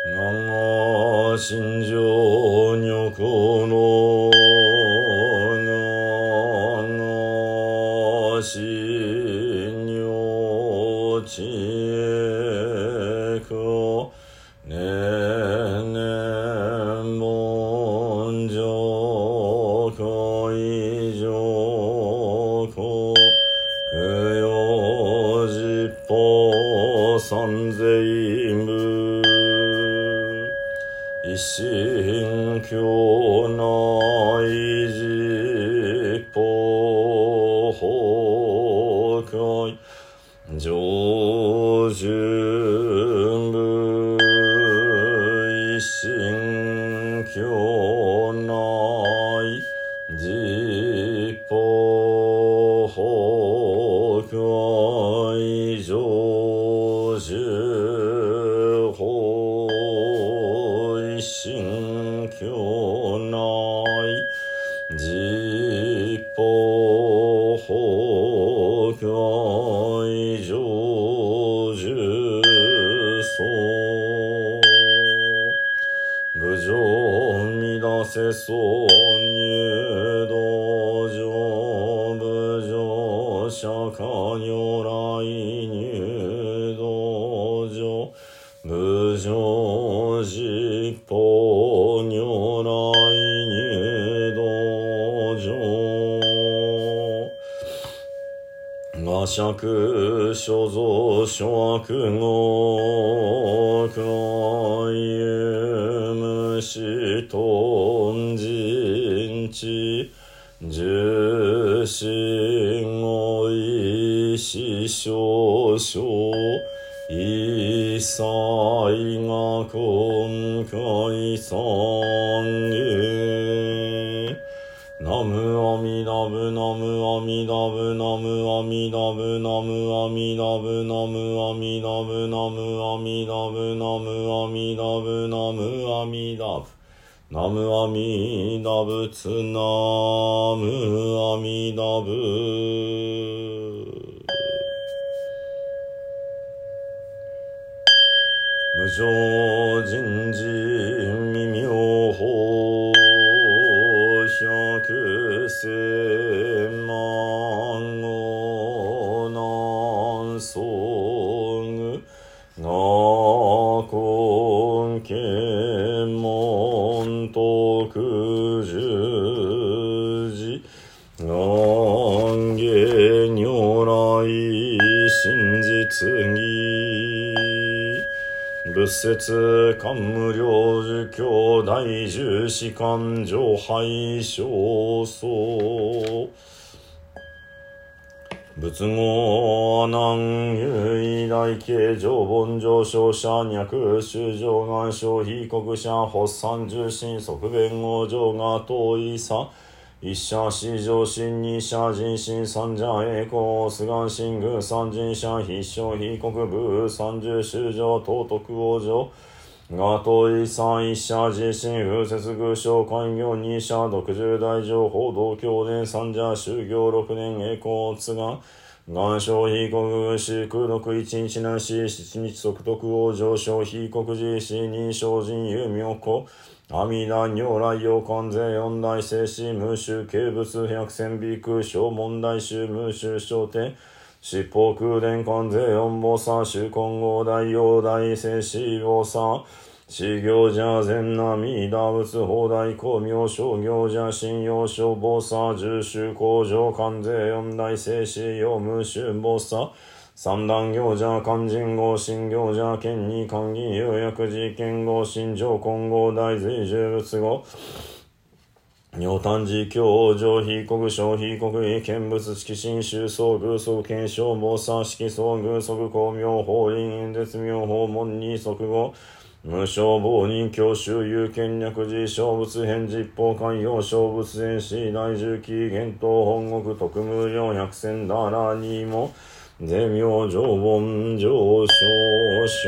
我心情女この我心女知恵くねね文上恋上子供養実法三世無一心教内実法法界上旬部一心教内実法法界上旬法一心教内実法法界上旬相無常乱せ挿入道場無常釈迦如来入道場無常実法如来入道場我釈所蔵諸悪語海有無視頓人知十心語意思少々一切が今回三へナムアミダブナムアミダブナムアミダブナムアミダブナムアミダブナムアミダブナムアミダブナムアミダブナムアミダブツナムアミダブ無常人事未妙法百千万語南宋我根検問徳十字願下如来真実義仏説官無量寿教大十士官上拝正僧仏語阿難唯大慶上凡上昇者脈修上願消費国者発散重心即弁語上が遠いさ一者四上心二者人心三者栄光須願心宮三人者必勝非国部三十修上道徳往上が遠い三一者自身風節偶称開業二者独十大乗報道教伝三者修行六年栄光津願願消非国四空毒一日南市七日即徳往上昇非国寺四人精進有妙高阿弥陀如来陽関税四大聖子無臭軽物百千美空小問題集無臭小天七宝空伝関税四菩薩衆金剛大陽大聖子菩薩四行者善那弥陀仏法大光明諸行者信用諸菩薩十種工場関税四大聖子用無臭菩薩三段行者勧進合信行者権に寛義有薬事件合信上金剛大随十仏語尿炭寺教上非国小非国威見物色心修相偶則検証菩薩式相偶則光明法輪演絶妙法門に即語無償亡人教習有権略寺小仏返実法寛容小仏前死大重機厳冬本国特無料百千ダラにも税妙上凡上昇者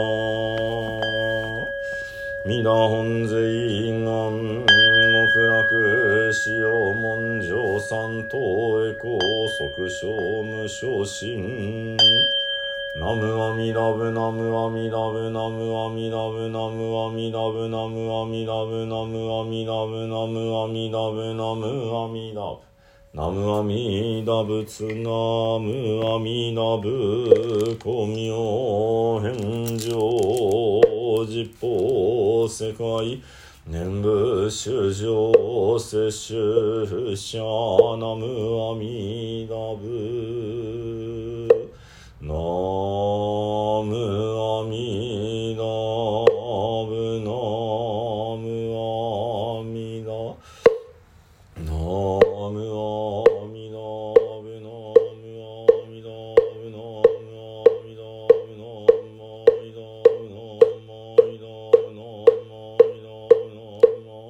弥陀本税願極楽使用文上三等へ高即小無昇進ナムアミダブナムアミダブナムアミダブナムアミダブナムアミダブナムアミダブナムアミダブナムアミダブナムアミダ仏ナムアミダブ光明返上実法世界念仏衆生摂取者ナムアミダブナムアミダブナムアミダナムアミダブナムアミダブナムアミダブナムアミダブナムアミダブナムアミダブナム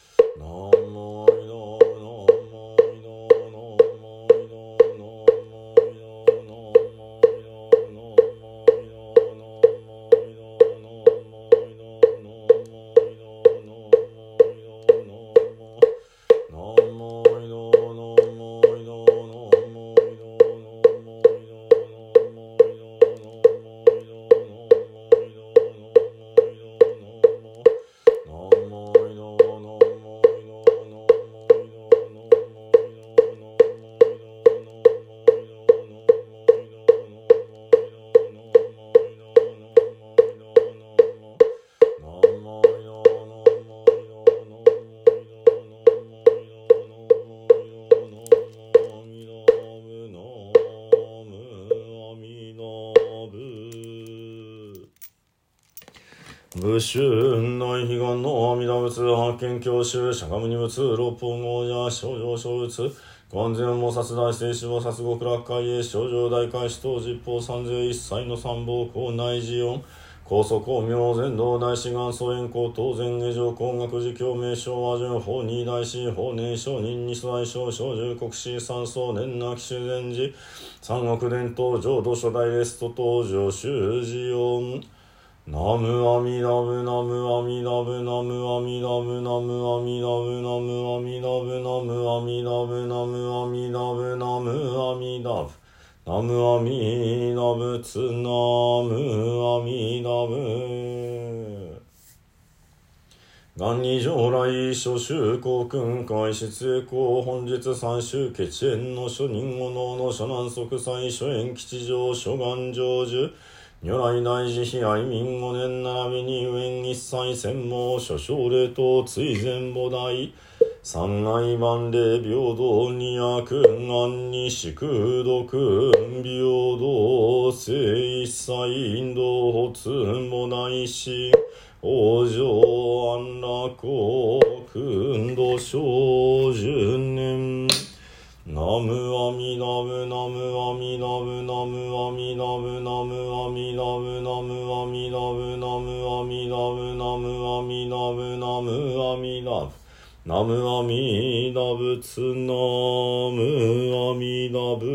仏宗内悲願の阿弥陀仏発見教習釈迦牟尼仏六本王者少女小仏観世音菩薩大聖子菩薩極楽会へ少女大開始等十方三世一切の三宝校内寺音高祖光明全道大志願祖円光当然下上工学寺教名称和順法二大師法年上人二世大小小十国士三宗年なき修善寺三国伝統浄土初代レスト登場修寺音ナムアミダブナムアミダブナムアミダブナムアミダブナムアミダブナムアミダブナムアミダブナムアミダブナムアミダブツナムアミダブ元二上来諸宗公訓開出栄光本日三宗決縁の諸人五能の諸南即祭諸縁吉祥諸願成就如来大慈悲愛民五年並びに無縁一切専門諸奨礼等追善菩提三愛万礼平等二悪願に宿毒平等聖一切引導発菩提心往生安楽苦度小十年ナムアミダブナムアミダブナムアミダブナムアミダブナムアミダブナムアミダブナムアミダブナムアミダブナムアミダブツナムアミダブ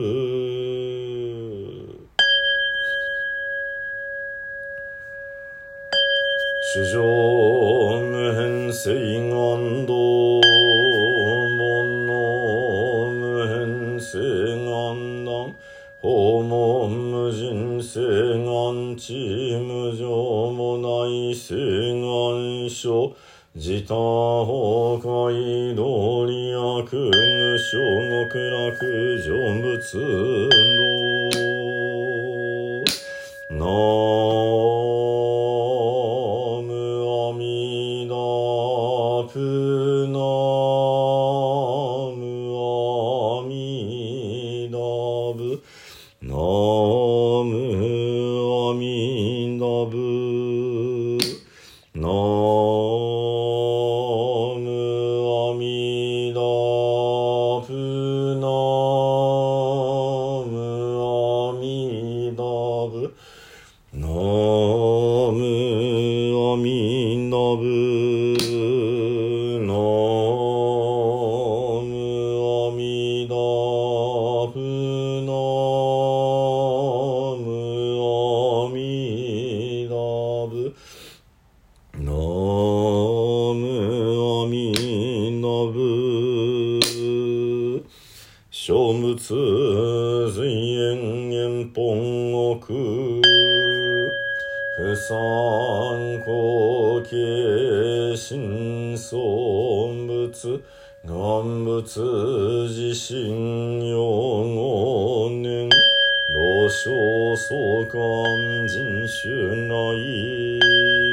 主上無変性願道聖願断訪問無人聖願地無常もない聖願書自他崩壊道理悪無償極楽成仏道ナムアミダプナナムアミダブナムアミダブナムアミダブナムアミダブナムアミダブナ小仏随縁縁本国三高慶心尊仏願仏自身用五年老少相関人種内。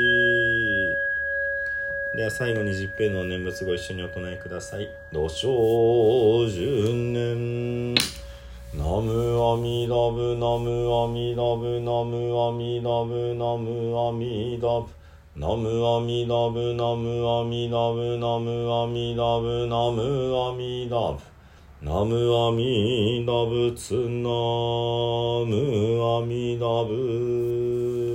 では最後に十平の念仏ご一緒にお唱えください。土生十年ナムアミダブナムアミダブナムアミダブナムアミダブナムアミダブナムアミダブナムアミダブナムアミダブナムアミダブツナムアミダブ